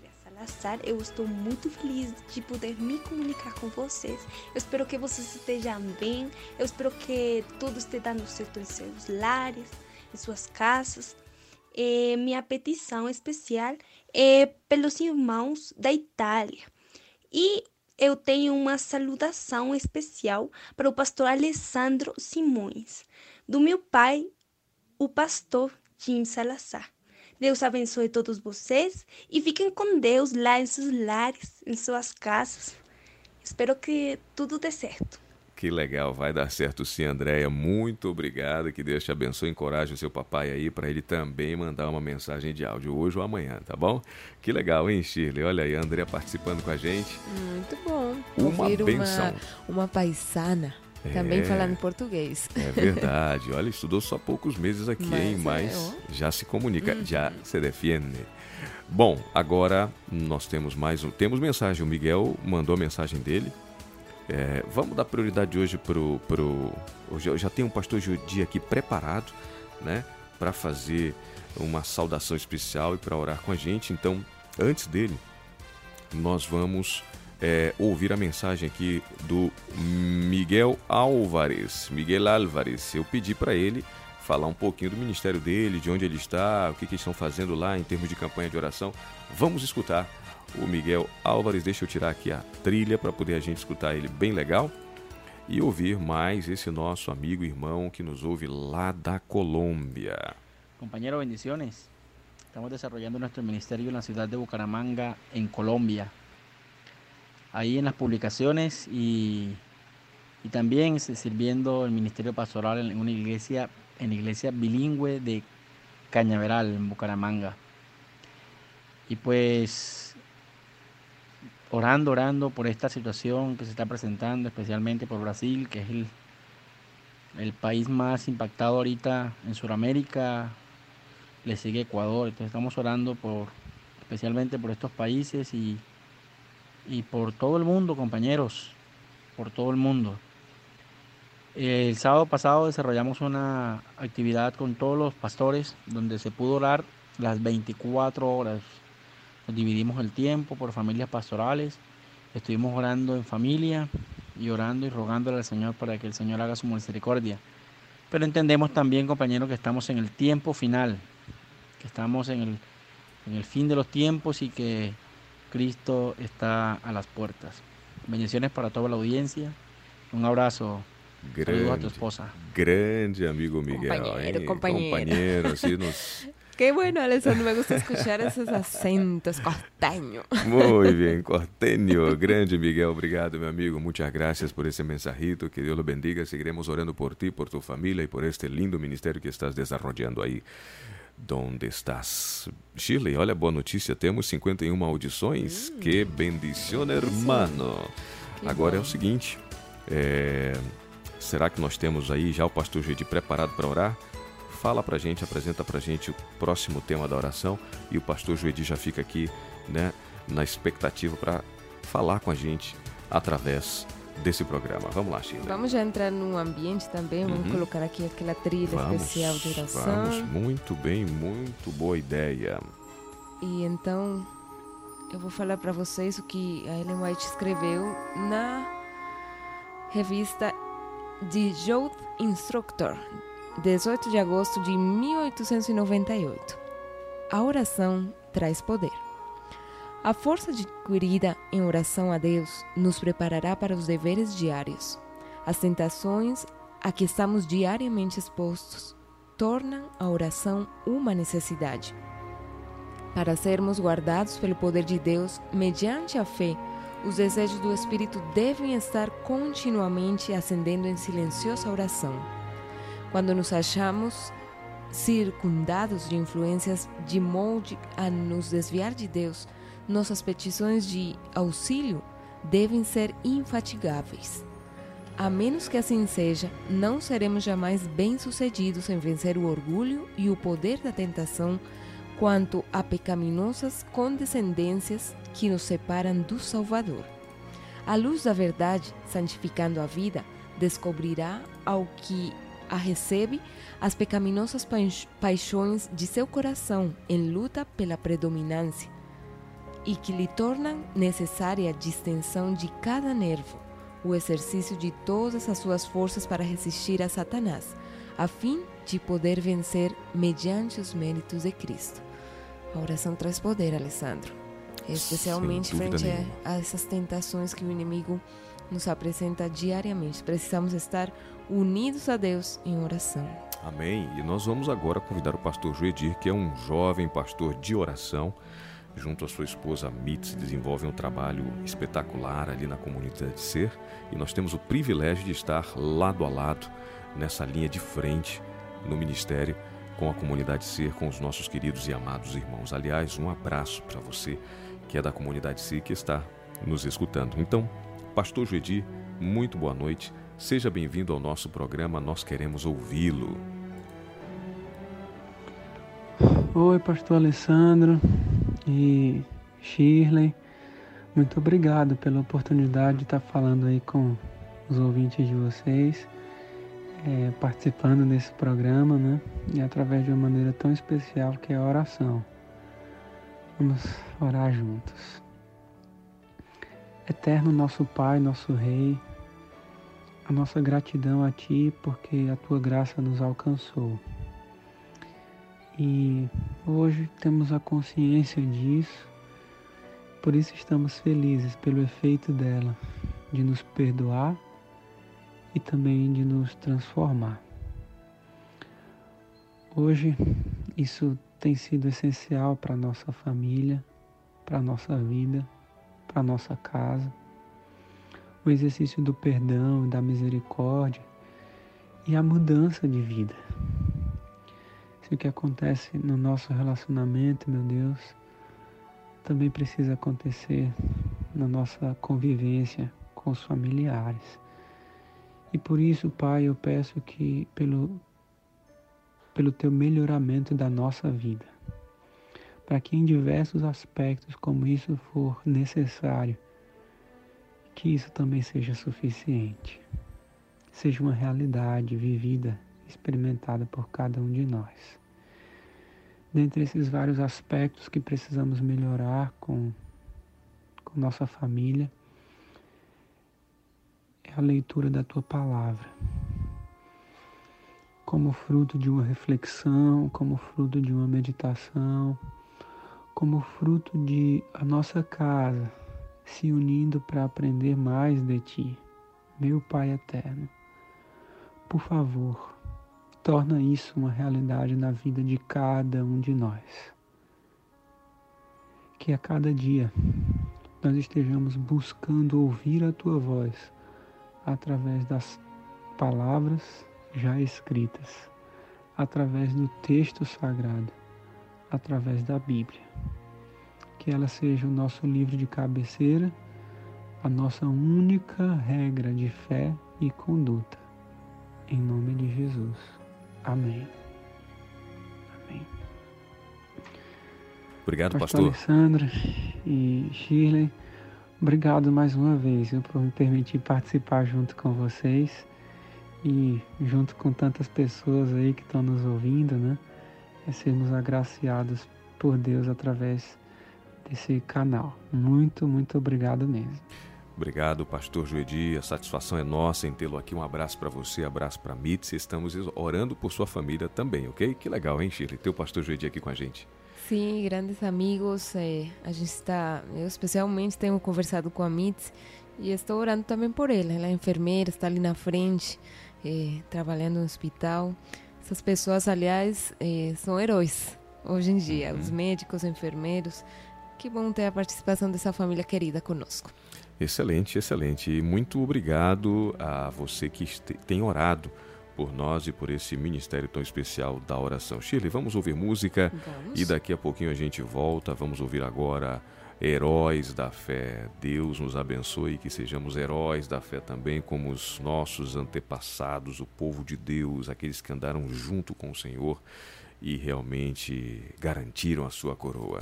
Salazar. Eu estou muito feliz de poder me comunicar com vocês. Eu espero que vocês estejam bem. Eu espero que tudo esteja dando certo em seus lares, em suas casas. É, minha petição especial é pelos irmãos da Itália. E eu tenho uma saudação especial para o pastor Alessandro Simões, do meu pai, o pastor Jim Salazar. Deus abençoe todos vocês e fiquem com Deus lá em seus lares, em suas casas. Espero que tudo dê certo. Que legal, vai dar certo sim, Andréia. Muito obrigado, que Deus te abençoe e encoraje o seu papai aí para ele também mandar uma mensagem de áudio hoje ou amanhã, tá bom? Que legal, hein, Shirley? Olha aí, a Andréia participando com a gente. Muito bom. Uma Ouvir benção. Uma, uma paisana também É. falando português. É verdade. Olha, estudou só poucos meses aqui, Mas hein? é, Mas ó. já se comunica, já se defende. Bom, agora nós temos mais um. Temos mensagem. O Miguel mandou a mensagem dele. É, vamos dar prioridade hoje pro, pro hoje eu já tem um pastor Judi aqui preparado, né, para fazer uma saudação especial e para orar com a gente. Então, antes dele, nós vamos é, ouvir a mensagem aqui do Miguel Álvares. Miguel Álvares. Eu pedi para ele falar um pouquinho do ministério dele, de onde ele está, o que, que eles estão fazendo lá em termos de campanha de oração. Vamos escutar o Miguel Álvares. Deixa eu tirar aqui a trilha para poder a gente escutar ele bem legal e ouvir mais esse nosso amigo e irmão que nos ouve lá da Colômbia. Compañeros, bendiciones. Estamos desarrollando nuestro ministerio en la ciudad de Bucaramanga, en Colombia. Ahí en las publicaciones y, y también sirviendo el ministerio pastoral en una iglesia, en la iglesia bilingüe de Cañaveral, en Bucaramanga. Y pues orando, orando por esta situación que se está presentando, especialmente por Brasil, que es el, el país más impactado ahorita en Sudamérica. Le sigue Ecuador. Entonces estamos orando por, especialmente por estos países y, y por todo el mundo, compañeros, por todo el mundo. El sábado pasado desarrollamos una actividad con todos los pastores donde se pudo orar las veinticuatro horas. Nos dividimos el tiempo por familias pastorales, estuvimos orando en familia y orando y rogándole al Señor para que el Señor haga su misericordia. Pero entendemos también, compañeros, que estamos en el tiempo final, que estamos en el, en el fin de los tiempos y que Cristo está a las puertas. Bendiciones para toda la audiencia. Un abrazo. Grande, Saludos a tu esposa. Grande amigo Miguel. Compañero, hein? compañero. Compañero, así nos... Qué bueno, Alessandro, me gusta escuchar esos acentos costeños. Muy bien, Corteño. Grande Miguel, obrigado, meu amigo. Muchas gracias por esse mensajito. Que Deus lo bendiga. Seguiremos orando por ti, por tu família e por este lindo ministério que estás desarrollando aí. Donde estás? Shirley, olha, boa notícia. Temos cinquenta e uma audições. Hum. Que bendición, hermano. Que Agora bom. É o seguinte. É... Será que nós temos aí já o pastor Judi preparado para orar? Fala pra gente, apresenta pra gente o próximo tema da oração e o pastor Joedi já fica aqui, né, na expectativa para falar com a gente através desse programa. Vamos lá, Sheila. Vamos já entrar no ambiente também, vamos uhum. colocar aqui aquela trilha vamos, especial de oração. Vamos, muito bem, muito boa ideia. E então, eu vou falar para vocês o que a Ellen White escreveu na revista The Youth Instructor, dezoito de agosto de mil oitocentos e noventa e oito. A oração traz poder. A força adquirida em oração a Deus nos preparará para os deveres diários. As tentações a que estamos diariamente expostos tornam a oração uma necessidade. Para sermos guardados pelo poder de Deus, mediante a fé, os desejos do Espírito devem estar continuamente ascendendo em silenciosa oração. Quando nos achamos circundados de influências de molde a nos desviar de Deus, nossas petições de auxílio devem ser infatigáveis. A menos que assim seja, não seremos jamais bem-sucedidos em vencer o orgulho e o poder da tentação quanto a pecaminosas condescendências que nos separam do Salvador. A luz da verdade, santificando a vida, descobrirá ao que a recebe as pecaminosas paixões de seu coração em luta pela predominância. e que lhe tornam necessária a distensão de cada nervo, o exercício de todas as suas forças para resistir a Satanás, a fim de poder vencer mediante os méritos de Cristo. A oração traz poder, Alessandro, especialmente frente a, a essas tentações que o inimigo nos apresenta diariamente. Precisamos estar unidos a Deus em oração. Amém. E nós vamos agora convidar o pastor Joedir, que é um jovem pastor de oração, junto à sua esposa Mitz, desenvolve um trabalho espetacular ali na comunidade Ser, e nós temos o privilégio de estar lado a lado, nessa linha de frente, no ministério, com a comunidade Ser, com os nossos queridos e amados irmãos. Aliás, um abraço para você, que é da comunidade Ser, que está nos escutando. Então, pastor Joedir, muito boa noite, seja bem-vindo ao nosso programa, nós queremos ouvi-lo. Oi, pastor Alessandro e Shirley, muito obrigado pela oportunidade de estar falando aí com os ouvintes de vocês, é, participando desse programa, né? E através de uma maneira tão especial que é a oração. Vamos orar juntos. Eterno nosso Pai, nosso Rei, a nossa gratidão a Ti porque a Tua graça nos alcançou. E hoje temos a consciência disso, por isso estamos felizes pelo efeito dela, de nos perdoar e também de nos transformar. Hoje isso tem sido essencial para a nossa família, para a nossa vida, para a nossa casa. O exercício do perdão, da misericórdia e a mudança de vida. Se o que acontece no nosso relacionamento, meu Deus, também precisa acontecer na nossa convivência com os familiares. E por isso, Pai, eu peço que pelo, pelo Teu melhoramento da nossa vida, para que em diversos aspectos, como isso for necessário, que isso também seja suficiente, seja uma realidade vivida, experimentada por cada um de nós. Dentre esses vários aspectos que precisamos melhorar com, com nossa família, é a leitura da Tua Palavra, como fruto de uma reflexão, como fruto de uma meditação, como fruto de a nossa casa se unindo para aprender mais de Ti, meu Pai eterno. Por favor, torna isso uma realidade na vida de cada um de nós. Que a cada dia nós estejamos buscando ouvir a Tua voz através das palavras já escritas, através do texto sagrado, através da Bíblia. Que ela seja o nosso livro de cabeceira, a nossa única regra de fé e conduta. Em nome de Jesus. Amém. Amém. Obrigado, pastor. pastor. Alessandro e Shirley, obrigado mais uma vez viu, por me permitir participar junto com vocês e junto com tantas pessoas aí que estão nos ouvindo, né? É sermos agraciados por Deus através desse canal. Muito, muito obrigado mesmo. Obrigado, pastor Joedir, a satisfação é nossa em tê-lo aqui. Um abraço para você, abraço para Mitz. Estamos orando por sua família também, ok? Que legal, hein, Shirley? Ter o pastor Joedir aqui com a gente. Sim, grandes amigos. É, a gente está, eu especialmente tenho conversado com a Mitz e estou orando também por ela. Ela é enfermeira, está ali na frente, é, trabalhando no hospital. Essas pessoas, aliás, é, são heróis hoje em dia, uhum. Os médicos, enfermeiros. Que bom ter a participação dessa família querida conosco. Excelente, excelente. E muito obrigado a você que tem orado por nós e por esse ministério tão especial da oração. Shirley, vamos ouvir música vamos. E daqui a pouquinho a gente volta. Vamos ouvir agora Heróis da Fé. Deus nos abençoe e que sejamos heróis da fé também, como os nossos antepassados, o povo de Deus, aqueles que andaram junto com o Senhor e realmente garantiram a sua coroa.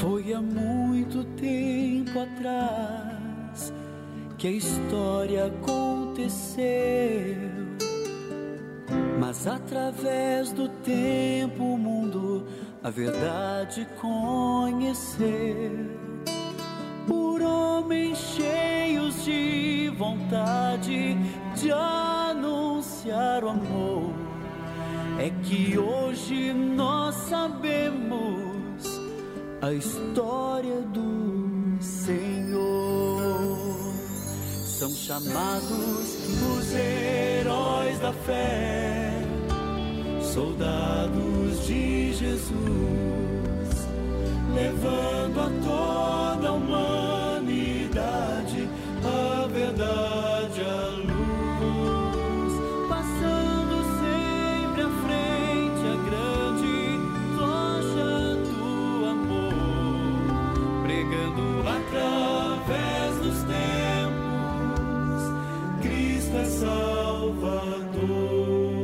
Foi há muito tempo atrás que a história aconteceu, mas através do tempo o mundo a verdade conheceu. Por homens cheios de vontade de anunciar o amor, é que hoje nós sabemos a história do Senhor. São chamados os heróis da fé, soldados de Jesus, levando a toda a humanidade a verdade, a luz, passando sempre à frente a grande tocha do amor, pregando através dos tempos, Cristo é Salvador.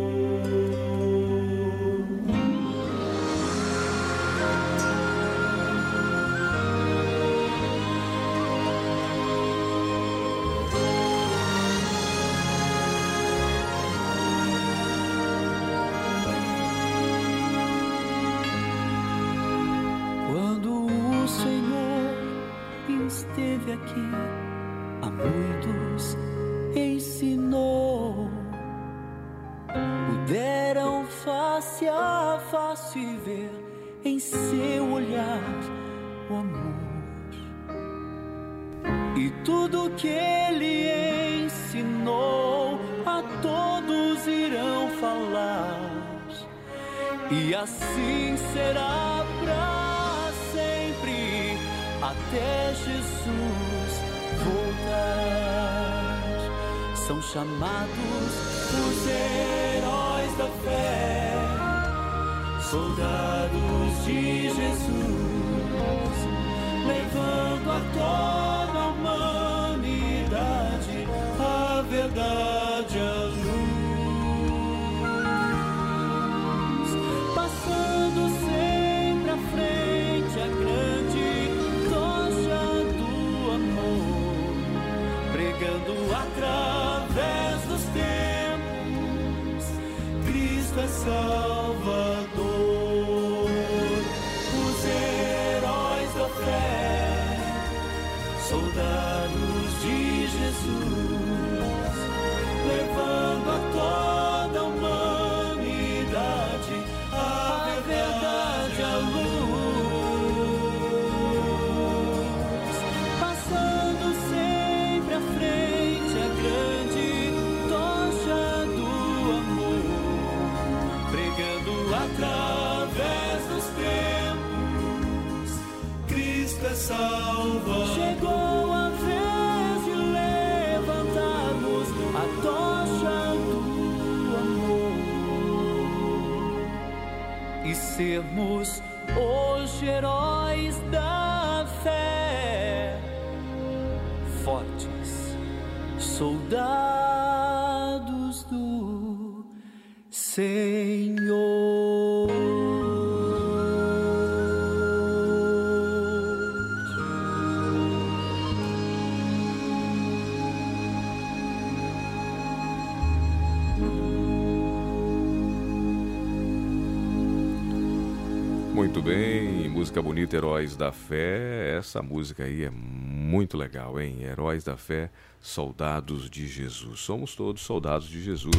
Esteve aqui, a muitos ensinou, puderam face a face ver em seu olhar o amor, e tudo que ele ensinou a todos irão falar, e assim será pra sempre, até Jesus voltar. São chamados os heróis da fé, soldados de Jesus, levando a toda a humanidade a verdade, a luz, passando sempre à frente a grande através dos tempos, Cristo é Salvador. Os heróis da fé, soldados de Jesus, levando a toda a humanidade a verdade, a luz, passando sempre à frente a grande tocha do amor, pregando através dos tempos, Cristo é Salvador. Chegou a vez de levantarmos a tocha do amor e sermos hoje heróis da fé, fortes soldados do Senhor. Muito bem, música bonita, Heróis da Fé. Essa música aí é muito legal, hein? Heróis da Fé, soldados de Jesus. Somos todos soldados de Jesus.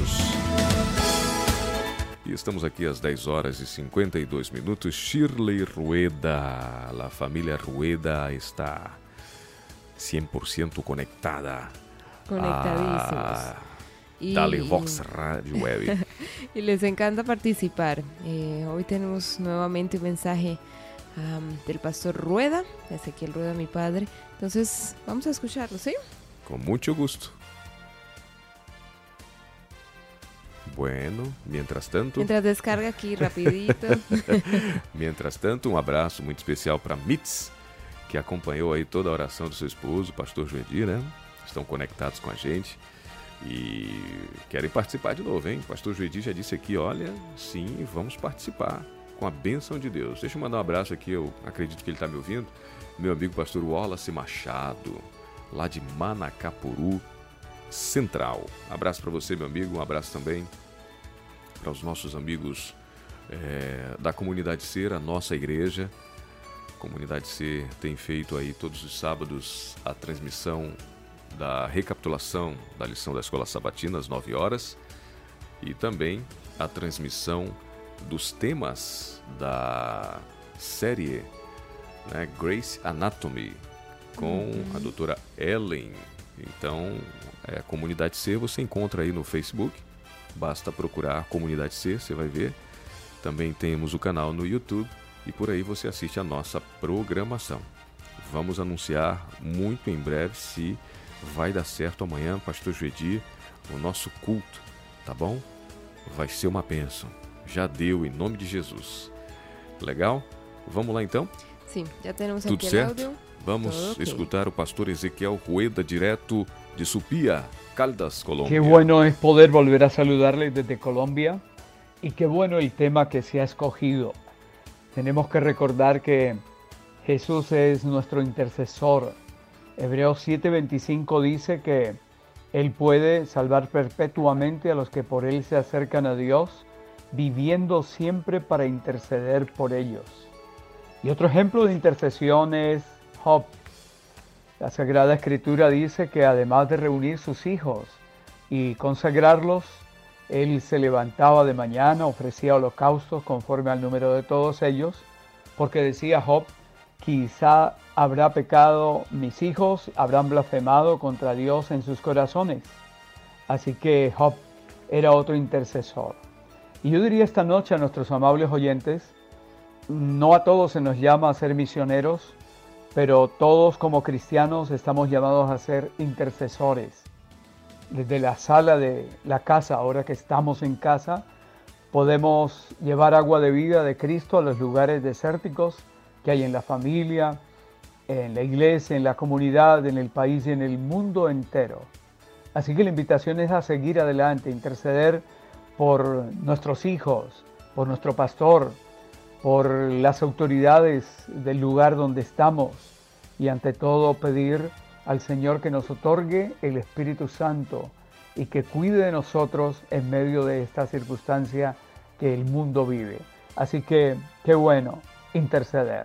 E estamos aqui às dez horas e cinquenta e dois minutos. Shirley Rueda, a família Rueda está cem por ciento conectada. Conectadísimos. A... Dale Vox Radio Web. Y les encanta participar. Eh, hoy tenemos nuevamente un mensaje um, del pastor Rueda, Ezequiel Rueda, mi padre. Entonces, vamos a escucharlo, ¿sí? Con mucho gusto. Bueno, mientras tanto... Mientras descarga aqui rapidito. Mientras tanto, um abraço muito especial para Mitz, que acompanhou aí toda a oração do seu esposo, o pastor Joedir, né? Estão conectados com a gente. E querem participar de novo, hein? O pastor Joedir já disse aqui, olha, sim, vamos participar. com a bênção de Deus. Deixa eu mandar um abraço aqui, eu acredito que ele está me ouvindo, meu amigo pastor Wallace Machado, lá de Manacapuru Central. Abraço para você, meu amigo, um abraço também para os nossos amigos é, da Comunidade Ser, a nossa igreja. A Comunidade Ser tem feito aí todos os sábados a transmissão da recapitulação da lição da Escola Sabatina às nove horas e também a transmissão dos temas da série, né, Grace Anatomy, com uhum. a doutora Ellen. Então, é, a Comunidade C você encontra aí no Facebook, basta procurar Comunidade C, você vai ver. Também temos o canal no YouTube e por aí você assiste a nossa programação. Vamos anunciar muito em breve se vai dar certo amanhã, Pastor Juedi, o nosso culto, tá bom? Vai ser uma bênção. Já deu, em nome de Jesus. Legal? Vamos lá então? Sim, já temos Tudo aqui certo? o áudio. Vamos Todo okay. escutar o pastor Ezequiel Rueda, direto de Supía, Caldas, Colombia. Qué bueno es poder volver a saludarle desde Colombia y qué bueno el tema que se ha escogido. Tenemos que recordar que Jesús es nuestro intercesor. Hebreos siete veinticinco dice que Él puede salvar perpetuamente a los que por Él se acercan a Dios, viviendo siempre para interceder por ellos. Y otro ejemplo de intercesión es Job. La Sagrada Escritura dice que además de reunir sus hijos y consagrarlos, Él se levantaba de mañana, ofrecía holocaustos conforme al número de todos ellos, porque decía Job, quizá habrá pecado mis hijos, habrán blasfemado contra Dios en sus corazones. Así que Job era otro intercesor. Y yo diría esta noche a nuestros amables oyentes, no a todos se nos llama a ser misioneros, pero todos como cristianos estamos llamados a ser intercesores. Desde la sala de la casa, ahora que estamos en casa, podemos llevar agua de vida de Cristo a los lugares desérticos que hay en la familia, en la iglesia, en la comunidad, en el país y en el mundo entero. Así que la invitación es a seguir adelante, interceder por nuestros hijos, por nuestro pastor, por las autoridades del lugar donde estamos y ante todo pedir al Señor que nos otorgue el Espíritu Santo y que cuide de nosotros en medio de esta circunstancia que el mundo vive. Así que, qué bueno, interceder.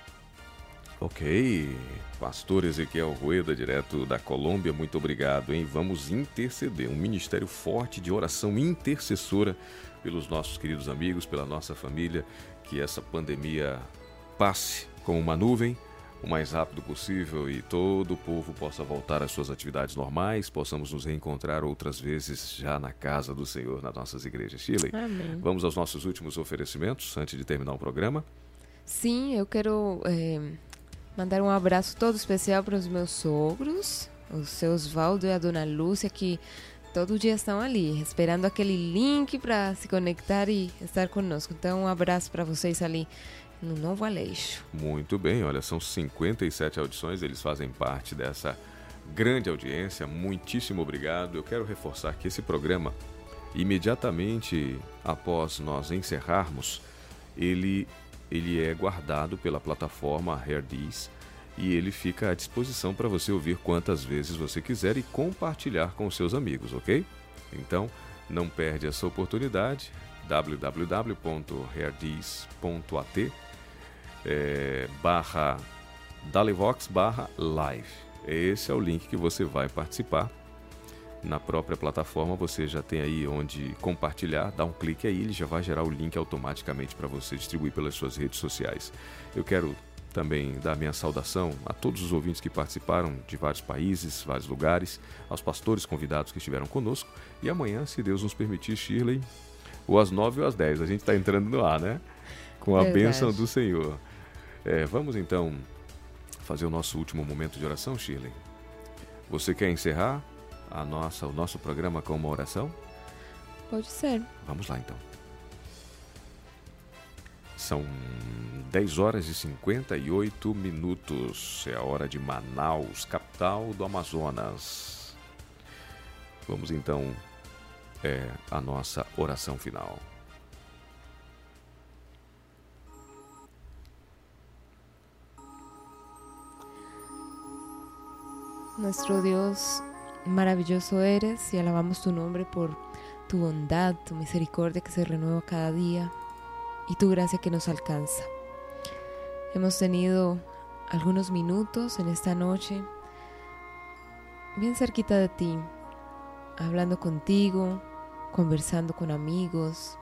Ok, pastor Ezequiel Rueda, direto da Colômbia, muito obrigado, hein? Vamos interceder, um ministério forte de oração intercessora pelos nossos queridos amigos, pela nossa família, que essa pandemia passe como uma nuvem o mais rápido possível e todo o povo possa voltar às suas atividades normais, possamos nos reencontrar outras vezes já na casa do Senhor, nas nossas igrejas. Shirley, Amém. Vamos aos nossos últimos oferecimentos antes de terminar o programa? Sim, eu quero é, mandar um abraço todo especial para os meus sogros, o seu Osvaldo e a dona Lúcia, que todo dia estão ali, esperando aquele link para se conectar e estar conosco. Então, um abraço para vocês ali no Novo Aleixo. Muito bem, olha, são cinquenta e sete audições, eles fazem parte dessa grande audiência, muitíssimo obrigado. Eu quero reforçar que esse programa, imediatamente após nós encerrarmos, ele, ele é guardado pela plataforma Herdis e ele fica à disposição para você ouvir quantas vezes você quiser e compartilhar com os seus amigos, ok? Então, não perde essa oportunidade, w w w ponto herdis ponto a t é, barra Dalivox barra live. Esse é o link que você vai participar. Na própria plataforma você já tem aí onde compartilhar, dá um clique aí, ele já vai gerar o link automaticamente para você distribuir pelas suas redes sociais. Eu quero também dar minha saudação a todos os ouvintes que participaram de vários países, vários lugares, aos pastores convidados que estiveram conosco. E amanhã, se Deus nos permitir, Shirley, ou às nove ou às dez, a gente está entrando no ar, né? Com a Verdade. bênção do Senhor. É, vamos então fazer o nosso último momento de oração, Shirley? Você quer encerrar a nossa, o nosso programa com uma oração? Pode ser. Vamos lá então. São dez horas e cinquenta e oito minutos. É a hora de Manaus, capital do Amazonas. Vamos então é, à nossa oração final. nuestro Dios, maravilloso eres y alabamos tu nombre por tu bondad, tu misericordia que se renueva cada día y tu gracia que nos alcanza. Hemos tenido algunos minutos en esta noche bien cerquita de ti, hablando contigo, conversando con amigos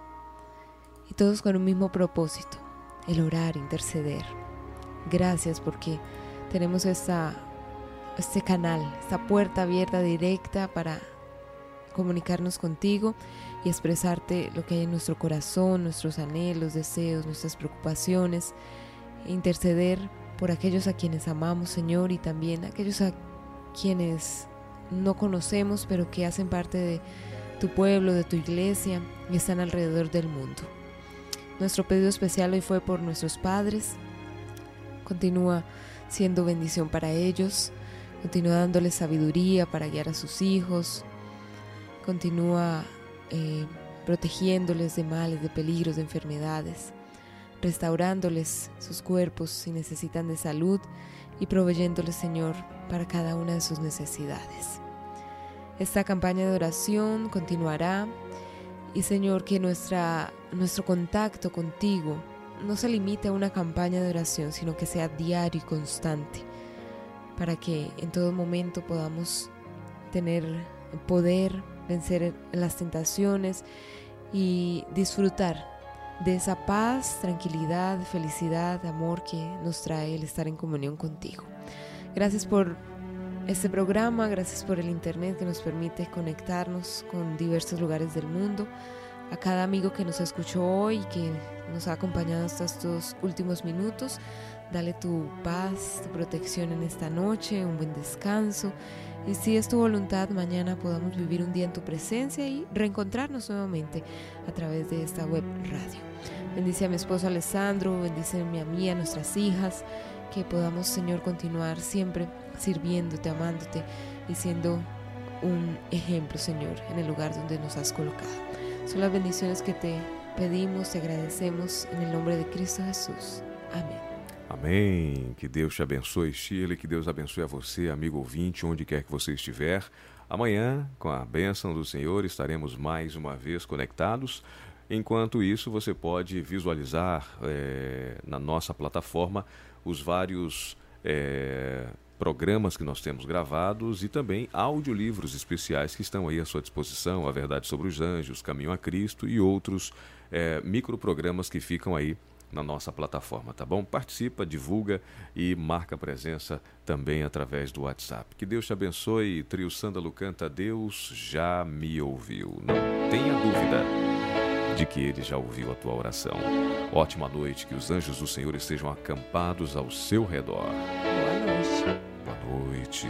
y todos con un mismo propósito, el orar, interceder. Gracias porque tenemos esta, este canal, esta puerta abierta directa para comunicarnos contigo y expresarte lo que hay en nuestro corazón, nuestros anhelos, deseos, nuestras preocupaciones, e interceder por aquellos a quienes amamos, Señor, y también aquellos a quienes no conocemos pero que hacen parte de tu pueblo, de tu iglesia y están alrededor del mundo. Nuestro pedido especial hoy fue por nuestros padres. Continúa siendo bendición para ellos, continúa dándoles sabiduría para guiar a sus hijos, continúa eh, protegiéndoles de males, de peligros, de enfermedades, restaurándoles sus cuerpos si necesitan de salud y proveyéndoles, Señor, para cada una de sus necesidades. Esta campaña de oración continuará y, Señor, que nuestra, nuestro contacto contigo no se limite a una campaña de oración, sino que sea diario y constante, para que en todo momento podamos tener poder, vencer las tentaciones y disfrutar de esa paz, tranquilidad, felicidad, amor que nos trae el estar en comunión contigo. Gracias por este programa, gracias por el internet que nos permite conectarnos con diversos lugares del mundo. A cada amigo que nos escuchó hoy y que nos ha acompañado hasta estos últimos minutos, dale tu paz, tu protección en esta noche, un buen descanso. Y si es tu voluntad, mañana podamos vivir un día en tu presencia y reencontrarnos nuevamente a través de esta web radio. Bendice a mi esposo Alessandro, bendíceme a mí, a nuestras hijas, que podamos, Señor, continuar siempre sirviéndote, amándote y siendo un ejemplo, Señor, en el lugar donde nos has colocado. Son las bendiciones que te pedimos, te agradecemos en el nombre de Cristo Jesús. Amém. Amém. Que Deus te abençoe, Shirley, que Deus abençoe a você, amigo ouvinte, onde quer que você estiver. Amanhã, com a bênção do Senhor, estaremos mais uma vez conectados. Enquanto isso, você pode visualizar é, na nossa plataforma os vários é, programas que nós temos gravados e também audiolivros especiais que estão aí à sua disposição, A Verdade sobre os Anjos, Caminho a Cristo e outros é, microprogramas que ficam aí na nossa plataforma, tá bom? Participa, divulga e marca presença também através do WhatsApp. Que Deus te abençoe. Trio Sândalo canta Deus já me ouviu. Não tenha dúvida de que Ele já ouviu a tua oração. Ótima noite, que os anjos do Senhor estejam acampados ao seu redor. Boa noite. Boa noite.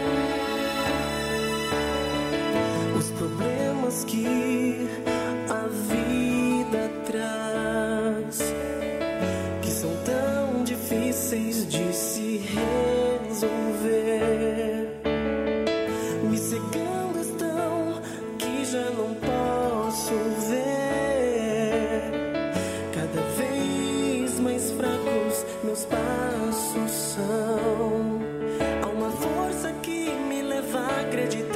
Os problemas que a vida traz, que são tão difíceis de se resolver, me cegando estão que já não posso ver. Cada vez mais fracos meus passos são. Há uma força que me leva a acreditar